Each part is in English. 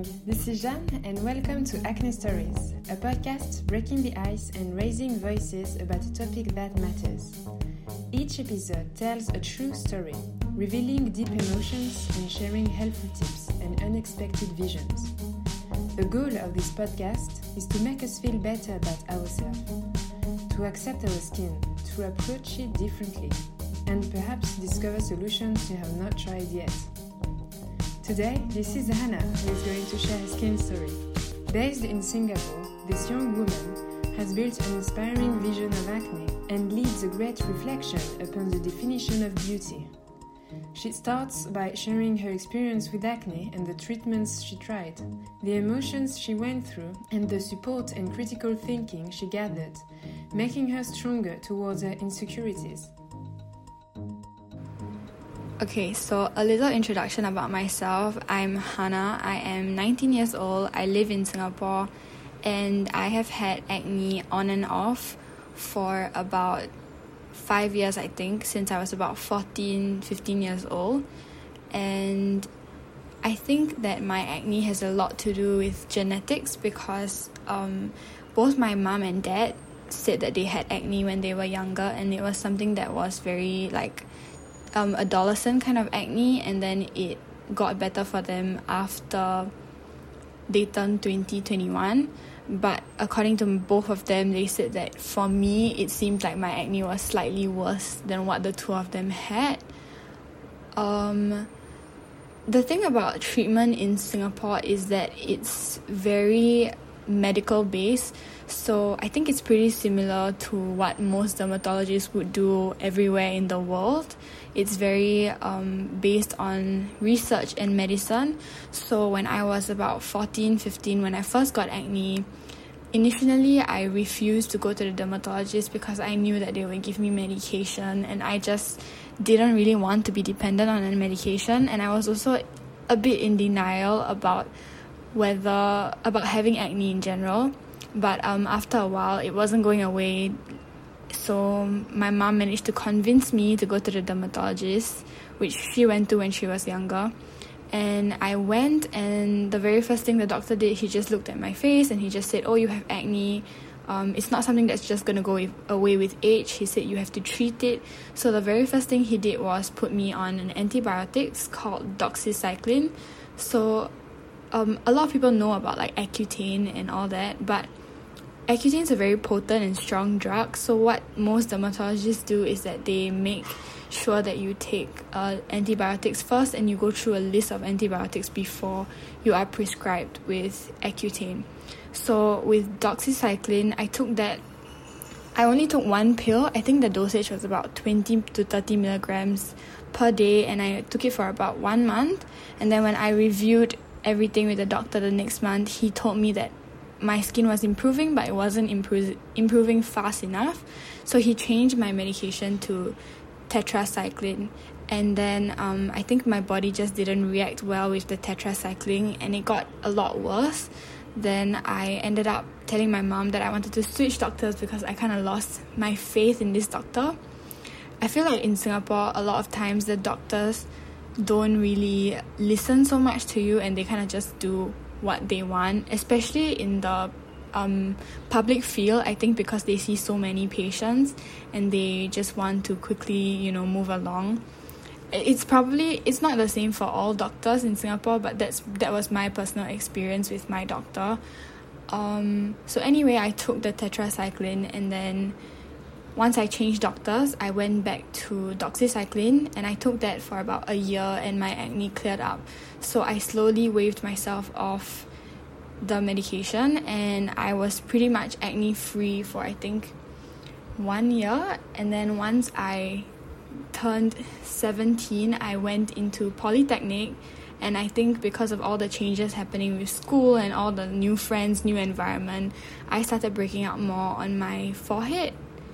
this is Jeanne and welcome to Acne Stories, a podcast breaking the ice and raising voices about a topic that matters. Each episode tells a true story, revealing deep emotions and sharing helpful tips and unexpected visions. The goal of this podcast is to make us feel better about ourselves, to accept our skin, to approach it differently, and perhaps discover solutions you have not tried yet. Today, this is Hannah who is going to share her skin story. Based in Singapore, this young woman has built an inspiring vision of acne and leads a great reflection upon the definition of beauty. She starts by sharing her experience with acne and the treatments she tried, the emotions she went through, and the support and critical thinking she gathered, making her stronger towards her insecurities. Okay, so a little introduction about myself. I'm Hannah. I am 19 years old. I live in Singapore and I have had acne on and off for about 5 years, I think, since I was about 15 years old. And I think that my acne has a lot to do with genetics because both my mom and dad said that they had acne when they were younger, and it was something that was very adolescent kind of acne, and then it got better for them after they turned 21. But according to both of them, they said that for me it seemed like my acne was slightly worse than what the two of them had. The thing about treatment in Singapore is that it's very medical based, so I think it's pretty similar to what most dermatologists would do everywhere in the world. It's very based on research and medicine. So when I was about 15, when I first got acne, initially I refused to go to the dermatologist because I knew that they would give me medication, and I just didn't really want to be dependent on a medication. And I was also a bit in denial about having acne in general. But after a while, it wasn't going away. So my mom managed to convince me to go to the dermatologist, which she went to when she was younger. And I went, and the very first thing the doctor did, he just looked at my face and he just said, "Oh, you have acne. It's not something that's just going to go away with age." He said you have to treat it. So the very first thing he did was put me on an antibiotics called doxycycline. So a lot of people know about Accutane and all that, but Accutane is a very potent and strong drug. So what most dermatologists do is that they make sure that you take antibiotics first, and you go through a list of antibiotics before you are prescribed with Accutane. So with doxycycline, I only took one pill. I think the dosage was about 20 to 30 milligrams per day, and I took it for about 1 month. And then when I reviewed everything with the doctor the next month, he told me that my skin was improving, but it wasn't improving fast enough. So he changed my medication to tetracycline. And then I think my body just didn't react well with the tetracycline, and it got a lot worse. Then I ended up telling my mom that I wanted to switch doctors because I kind of lost my faith in this doctor. I feel like in Singapore, a lot of times the doctors don't really listen so much to you, and they kind of just do what they want, especially in the public field. I think because they see so many patients and they just want to quickly move along. It's not the same for all doctors in Singapore, but that was my personal experience with my doctor. So anyway, I took the tetracycline, and then once I changed doctors, I went back to doxycycline, and I took that for about a year, and my acne cleared up. So I slowly waved myself off the medication, and I was pretty much acne free for I think 1 year. And then once I turned 17, I went into polytechnic, and I think because of all the changes happening with school and all the new friends, new environment, I started breaking out more on my forehead.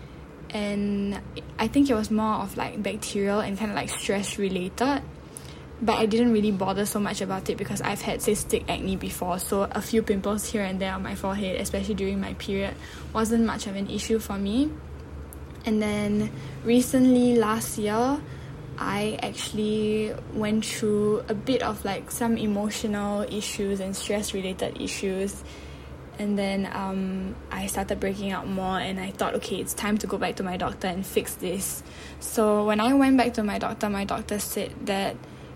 And I think it was more of bacterial and kind of stress related, but I didn't really bother so much about it because I've had cystic acne before, so a few pimples here and there on my forehead, especially during my period, wasn't much of an issue for me. And then recently last year, I actually went through a bit of like some emotional issues and stress related issues, and then I started breaking out more, and I thought, okay, it's time to go back to my doctor and fix this. So when I went back to my doctor said that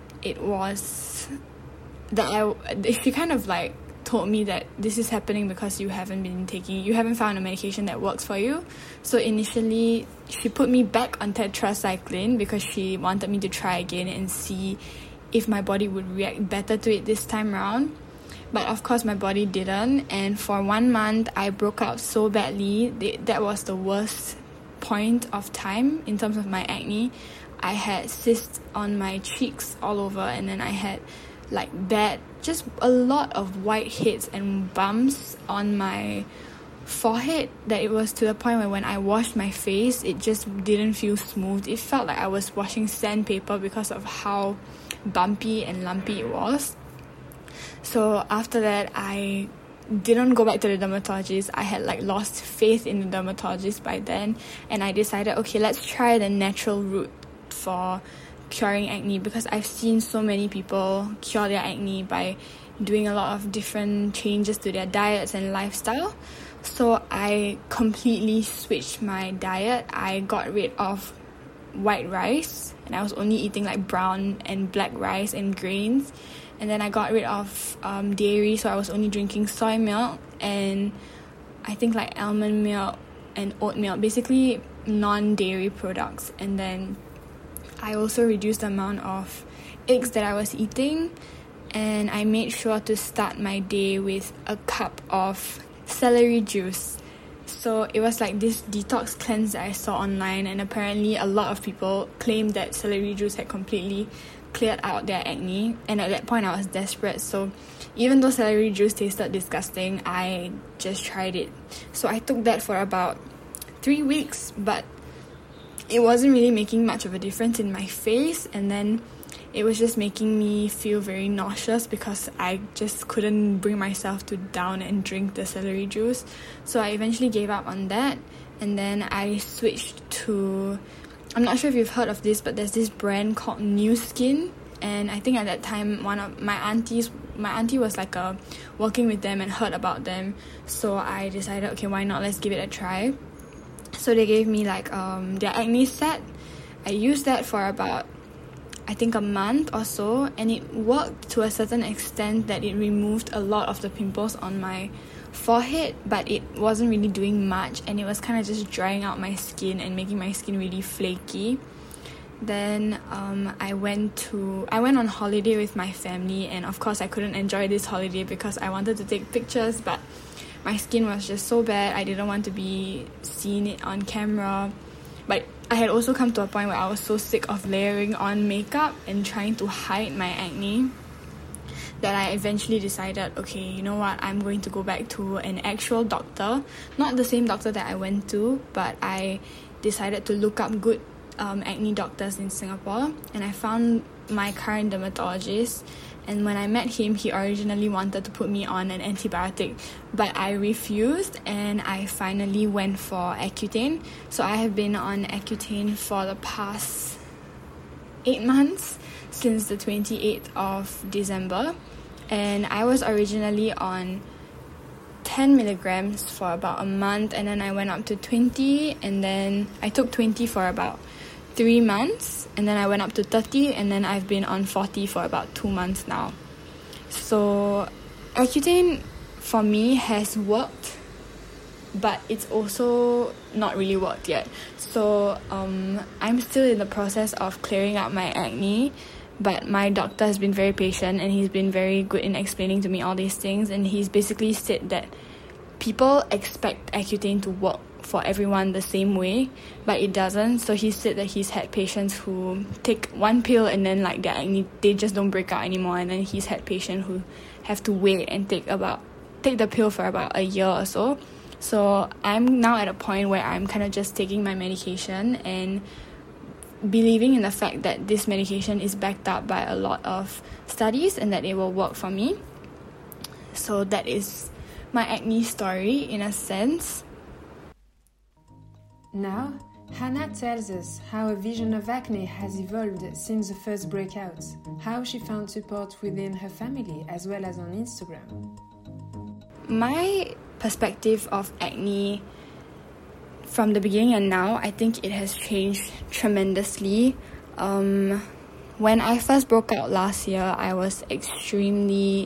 she kind of like told me that this is happening because you haven't found a medication that works for you. So initially she put me back on tetracycline because she wanted me to try again and see if my body would react better to it this time around. But of course my body didn't, and for 1 month I broke out so badly. That was the worst point of time in terms of my acne. I had cysts on my cheeks all over, and then I had like just a lot of whiteheads and bumps on my forehead, that it was to the point where when I washed my face, it just didn't feel smooth. It felt like I was washing sandpaper because of how bumpy and lumpy it was. So after that, I didn't go back to the dermatologist. I had like lost faith in the dermatologist by then, and I decided, okay, let's try the natural route for curing acne, because I've seen so many people cure their acne by doing a lot of different changes to their diets and lifestyle. So I completely switched my diet. I got rid of white rice, and I was only eating like brown and black rice and grains. And then I got rid of dairy, so I was only drinking soy milk and I think like almond milk and oat milk, basically non-dairy products. And then I also reduced the amount of eggs that I was eating, and I made sure to start my day with a cup of celery juice. So it was like this detox cleanse that I saw online, and apparently a lot of people claimed that celery juice had completely cleared out their acne, and at that point I was desperate. So even though celery juice tasted disgusting, I just tried it. So I took that for about 3 weeks, but it wasn't really making much of a difference in my face, and then it was just making me feel very nauseous because I just couldn't bring myself to down and drink the celery juice. So I eventually gave up on that, and then I switched to, I'm not sure if you've heard of this, but there's this brand called Nu Skin, and I think at that time one of my auntie was like working with them and heard about them. So I decided, okay, why not, let's give it a try. So they gave me like their acne set. I used that for about, I think, a month or so, and it worked to a certain extent that it removed a lot of the pimples on my forehead, but it wasn't really doing much, and it was kind of just drying out my skin and making my skin really flaky. Then I went on holiday with my family, and of course I couldn't enjoy this holiday because I wanted to take pictures, but my skin was just so bad. I didn't want to be seen it on camera. But I had also come to a point where I was so sick of layering on makeup and trying to hide my acne that I eventually decided, okay, you know what, I'm going to go back to an actual doctor. Not the same doctor that I went to, but I decided to look up good acne doctors in Singapore, and I found my current dermatologist. And when I met him, he originally wanted to put me on an antibiotic, but I refused, and I finally went for Accutane. So I have been on Accutane for the past 8 months, since the 28th of December. And I was originally on 10 milligrams for about a month, and then I went up to 20, and then I took 20 for about 3 months, and then I went up to 30, and then I've been on 40 for about 2 months now. So Accutane for me has worked, but it's also not really worked yet. So I'm still in the process of clearing up my acne, but my doctor has been very patient, and he's been very good in explaining to me all these things, and he's basically said that people expect Accutane to work for everyone the same way, but it doesn't. So he said that he's had patients who take one pill and then like their acne, they just don't break out anymore, and then he's had patients who have to wait and take the pill for about a year or so. So I'm now at a point where I'm kind of just taking my medication and believing in the fact that this medication is backed up by a lot of studies and that it will work for me. So that is my acne story in a sense. Now, Hannah tells us how her vision of acne has evolved since the first breakout, how she found support within her family as well as on Instagram. My perspective of acne from the beginning and now, I think it has changed tremendously. When I first broke out last year, I was extremely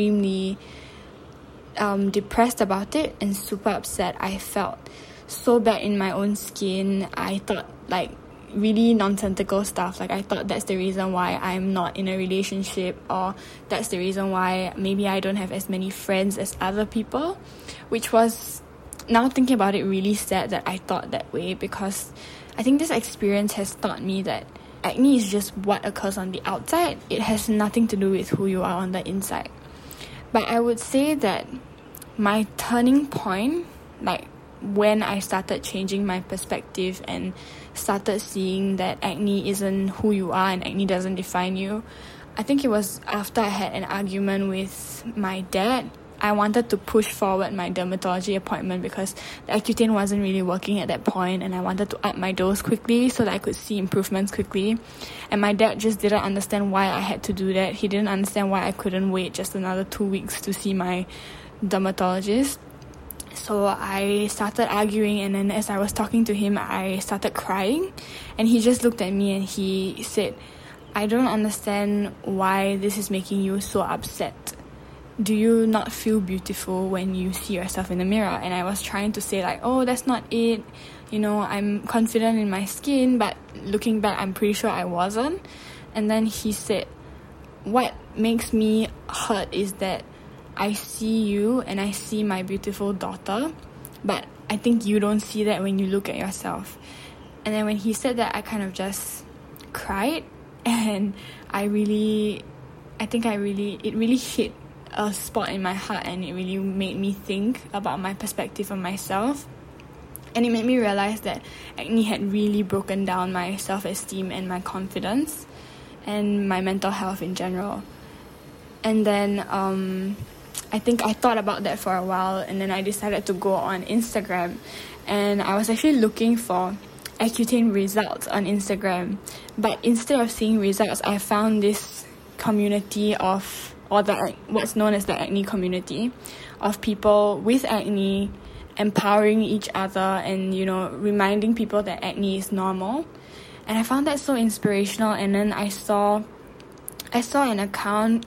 depressed about it and super upset. I felt so bad in my own skin. I thought like really nonsensical stuff. Like I thought that's the reason why I'm not in a relationship, or that's the reason why maybe I don't have as many friends as other people, which was, now thinking about it, really sad that I thought that way, because I think this experience has taught me that acne is just what occurs on the outside. It has nothing to do with who you are on the inside. But I would say that my turning point, like when I started changing my perspective and started seeing that acne isn't who you are and acne doesn't define you, I think it was after I had an argument with my dad. I wanted to push forward my dermatology appointment because the Accutane wasn't really working at that point, and I wanted to up my dose quickly so that I could see improvements quickly. And my dad just didn't understand why I had to do that. He didn't understand why I couldn't wait just another 2 weeks to see my dermatologist. So I started arguing, and then as I was talking to him, I started crying, and he just looked at me and he said, "I don't understand why this is making you so upset. Do you not feel beautiful when you see yourself in the mirror?" And I was trying to say like, "Oh, that's not it. You know, I'm confident in my skin," but looking back, I'm pretty sure I wasn't. And then he said, "What makes me hurt is that I see you and I see my beautiful daughter, but I think you don't see that when you look at yourself." And then when he said that, I kind of just cried, and it really hit a spot in my heart, and it really made me think about my perspective of myself. And it made me realize that acne had really broken down my self-esteem and my confidence and my mental health in general. And then I think I thought about that for a while, and then I decided to go on Instagram, and I was actually looking for Accutane results on Instagram. But instead of seeing results, I found this community of, or what's known as the acne community, of people with acne empowering each other and, you know, reminding people that acne is normal. And I found that so inspirational. And then I saw an account,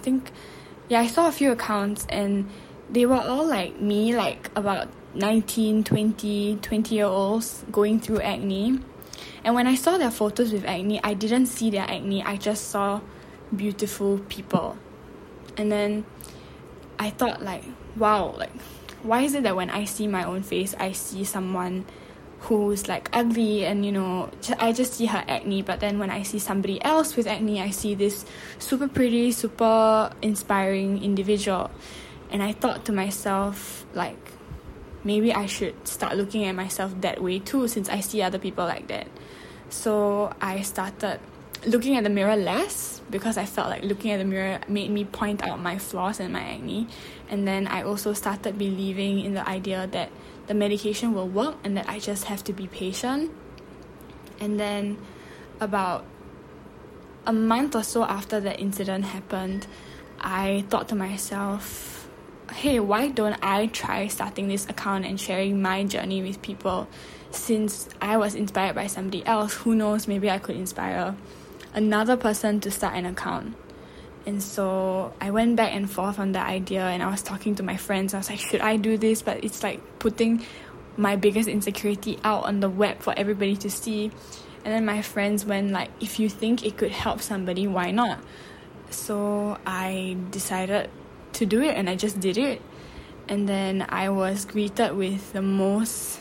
I saw a few accounts, and they were all like me, like about 19, 20-year-olds going through acne. And when I saw their photos with acne, I didn't see their acne, I just saw beautiful people. And then I thought like, wow, like why is it that when I see my own face, I see someone who's like ugly and, you know, I just see her acne, but then when I see somebody else with acne, I see this super pretty, super inspiring individual. And I thought to myself, like, maybe I should start looking at myself that way too, since I see other people like that. So I started looking at the mirror less, because I felt like looking at the mirror made me point out my flaws and my acne. And then I also started believing in the idea that the medication will work and that I just have to be patient. And then about a month or so after that incident happened, I thought to myself, hey, why don't I try starting this account and sharing my journey with people? Since I was inspired by somebody else, who knows, maybe I could inspire another person to start an account. And so I went back and forth on the idea, and I was talking to my friends. I was like, should I do this? But it's like putting my biggest insecurity out on the web for everybody to see. And then my friends went like, if you think it could help somebody, why not? So I decided to do it, and I just did it. And then I was greeted with the most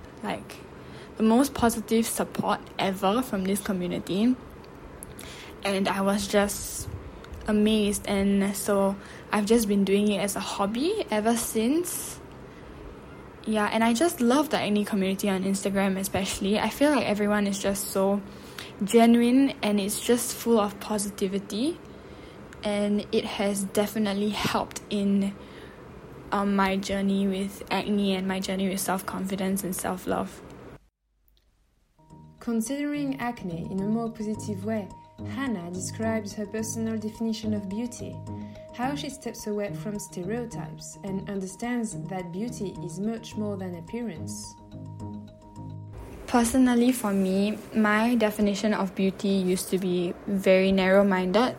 positive support ever from this community. And I was just amazed, and so I've just been doing it as a hobby ever since. Yeah, and I just love the acne community on Instagram especially. I feel like everyone is just so genuine, and it's just full of positivity, and it has definitely helped in my journey with acne and my journey with self-confidence and self-love. Considering acne in a more positive way, Hannah describes her personal definition of beauty, how she steps away from stereotypes and understands that beauty is much more than appearance. Personally, for me, my definition of beauty used to be very narrow-minded.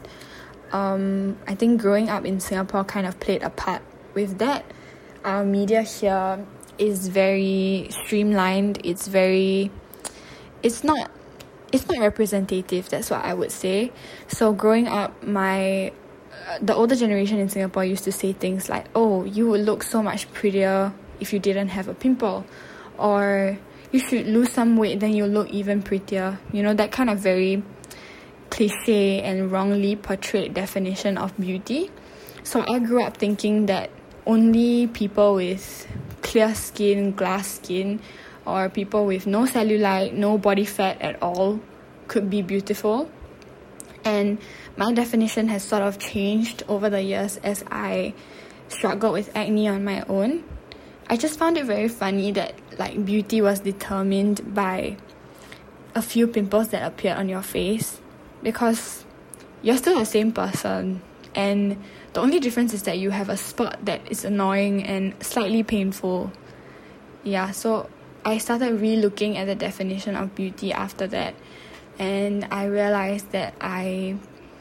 I think growing up in Singapore kind of played a part with that. Our media here is very streamlined. It's not representative. That's what I would say. So growing up, the older generation in Singapore used to say things like, "Oh, you would look so much prettier if you didn't have a pimple," or "You should lose some weight, then you'll look even prettier." You know, that kind of very cliche and wrongly portrayed definition of beauty. So I grew up thinking that only people with clear skin, glass skin, or people with no cellulite, no body fat at all could be beautiful. And my definition has sort of changed over the years as I struggled with acne on my own. I just found it very funny that like beauty was determined by a few pimples that appeared on your face, because you're still the same person, and the only difference is that you have a spot that is annoying and slightly painful. Yeah, so I started re-looking at the definition of beauty after that, and I realized that I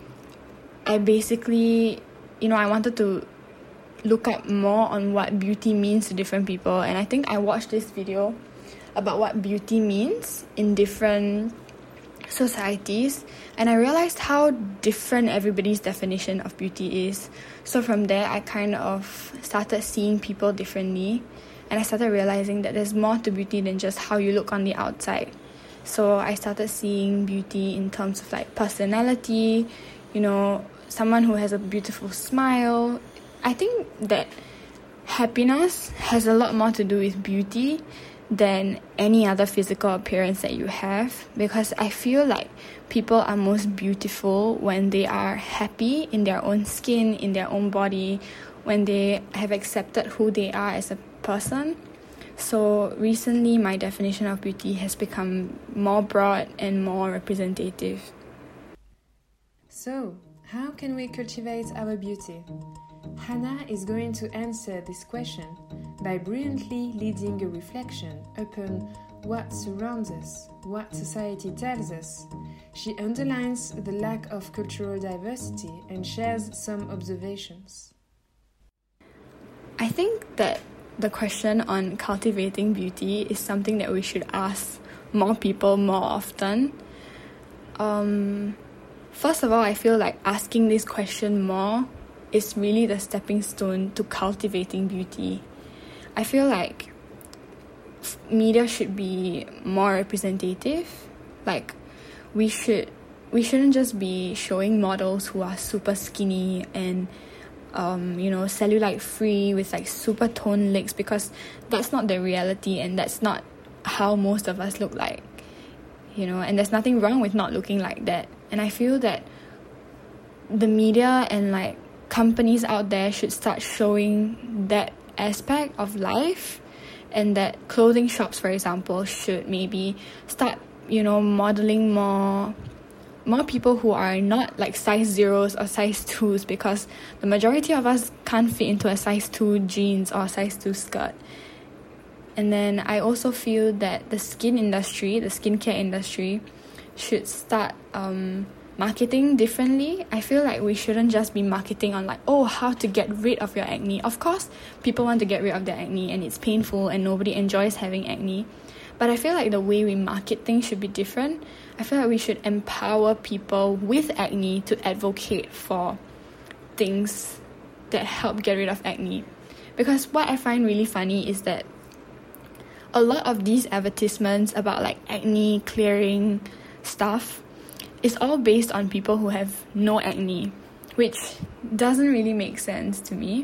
basically, I wanted to look up more on what beauty means to different people. And I think I watched this video about what beauty means in different societies, and I realized how different everybody's definition of beauty is. So from there, I kind of started seeing people differently, and I started realizing that there's more to beauty than just how you look on the outside. So I started seeing beauty in terms of like personality, someone who has a beautiful smile. I think that happiness has a lot more to do with beauty than any other physical appearance that you have, because I feel like people are most beautiful when they are happy in their own skin, in their own body, when they have accepted who they are as a person. So recently, my definition of beauty has become more broad and more representative. So, how can we cultivate our beauty? Hannah is going to answer this question by brilliantly leading a reflection upon what surrounds us, what society tells us. She underlines the lack of cultural diversity and shares some observations. I think that the question on cultivating beauty is something that we should ask more people more often. First of all, I feel like asking this question more is really the stepping stone to cultivating beauty. I feel like media should be more representative. Like, we shouldn't just be showing models who are super skinny and cellulite free with like super toned legs, because that's not the reality and that's not how most of us look like, and there's nothing wrong with not looking like that. And I feel that the media and like companies out there should start showing that aspect of life, and that clothing shops, for example, should maybe start modeling more people who are not like size 0s or size 2s, because the majority of us can't fit into a size 2 jeans or size 2 skirt. And then I also feel that the skincare industry should start marketing differently. I feel like we shouldn't just be marketing on like, how to get rid of your acne. Of course, people want to get rid of their acne and it's painful and nobody enjoys having acne. But I feel like the way we market things should be different. I feel like we should empower people with acne to advocate for things that help get rid of acne. Because what I find really funny is that a lot of these advertisements about like acne clearing stuff is all based on people who have no acne, which doesn't really make sense to me.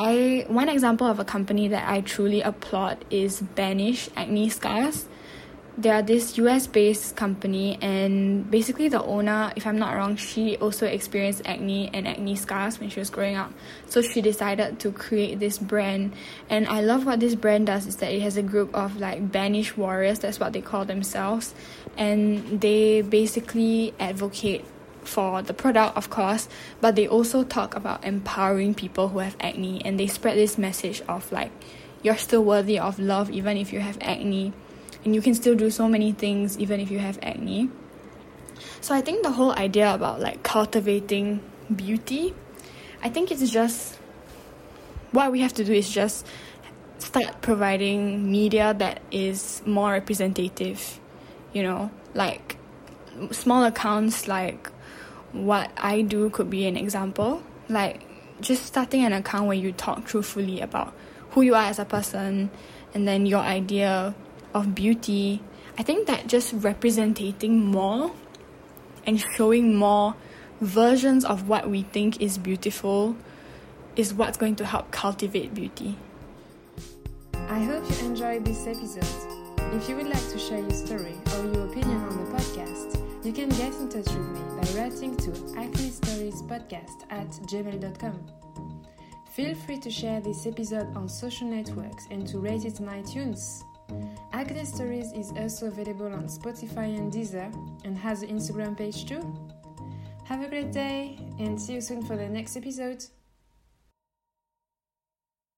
One example of a company that I truly applaud is Banish Acne Scars. they are this US-based company, and basically the owner, if I'm not wrong, she also experienced acne and acne scars when she was growing up. So she decided to create this brand, and I love what this brand does is that it has a group of like banished warriors, that's what they call themselves, and they basically advocate for the product, of course, but they also talk about empowering people who have acne, and they spread this message of like, you're still worthy of love even if you have acne, and you can still do so many things even if you have acne. So I think the whole idea about like cultivating beauty, I think it's just, what we have to do is just start providing media that is more representative, you know, like small accounts like what I do could be an example, like just starting an account where you talk truthfully about who you are as a person and then your idea of beauty. I think that just representing more and showing more versions of what we think is beautiful is what's going to help cultivate beauty. I hope you enjoyed this episode. If you would like to share your story or your opinion on the podcast, you can get in touch with me by writing to acnestoriespodcast@gmail.com. Feel free to share this episode on social networks and to rate it on iTunes. Acne Stories is also available on Spotify and Deezer and has an Instagram page too. Have a great day and see you soon for the next episode.